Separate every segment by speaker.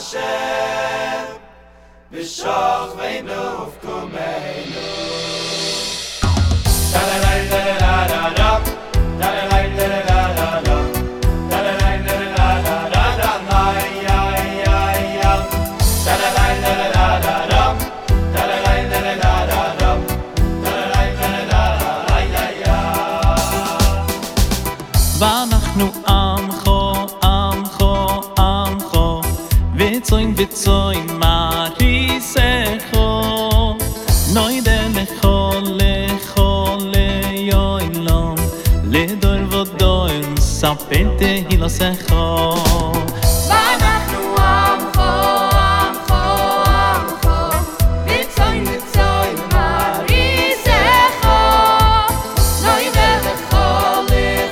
Speaker 1: Hashem B'shochveinu ufkumeinu Da-da-da-da-da-da-da Da-da-da-da-da-da-da
Speaker 2: ואנחנו עמך וצוין מריסךו נוידה לכל ליום לדור ודור ספר תהילתךו
Speaker 3: ואנחנו עמך וצוין מריסךו נוידה לכל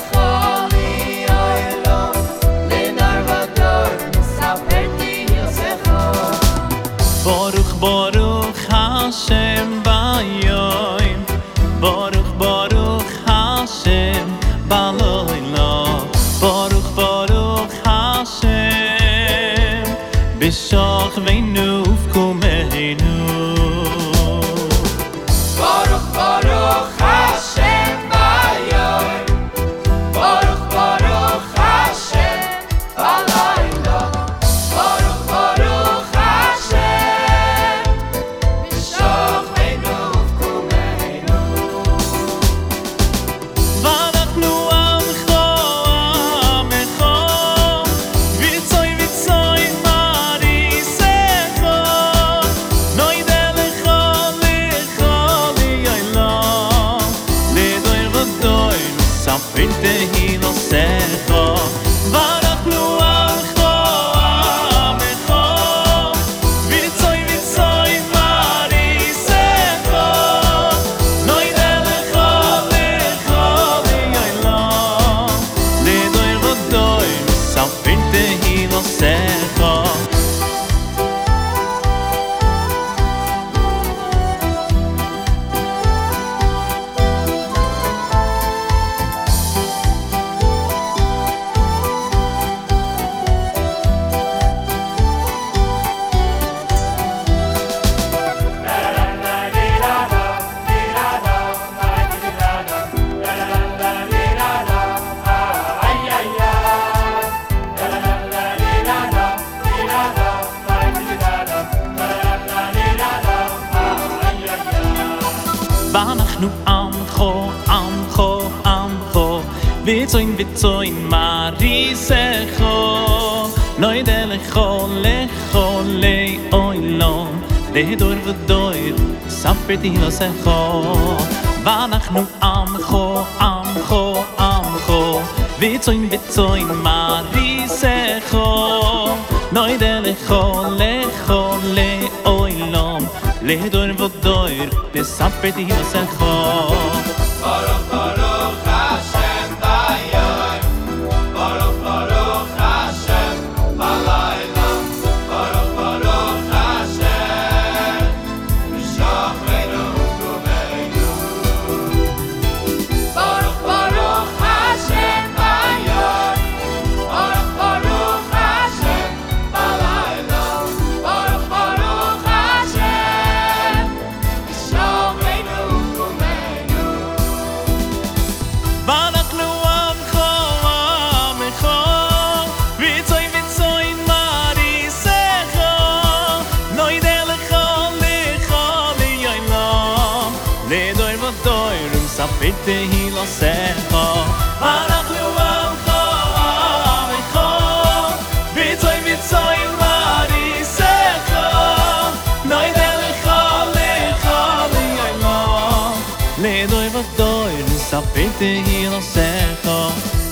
Speaker 2: Baruch Hashem Bayoim Baruch Hashem Baloila Baruch Hashem B'shochveinu ufkumeinu
Speaker 1: Baruch Hashem Bayoim Baruch Hashem Balayla Baruch Hashem B'shochveinu ufkumeinu
Speaker 2: ואנחנו עמך ויצוי מריסךו נוידה לכל יום לדור ודור ספר תהילתךו ואנחנו עמך ויצוי מריסךו נוידה לכל יום לדור ודור ספר תהילתךו ואנחנו עמך ויצוין מריסךו נוידה לכל עולם לדור ודור ספר תהילתךו ואנחנו עמך ויצוין מריסךו נוידה לכל עולם לדור ודור ספר תהילתךו
Speaker 1: Baruch Hashem Bayoim Baruch Hashem Balayla Baruch Hashem B'shochveinu ufkumeinu Baruch Hashem Bayoim Baruch Hashem Balayla Baruch Hashem B'shochveinu ufkumeinu
Speaker 2: ואנחנו עמך ויצוין מריסךו נוידה לכל יום לדור ודור ספר תהילתךו ואנחנו עמך ויצוין מריסךו נוידה לכל יום לדור ודור ספר תהילתךו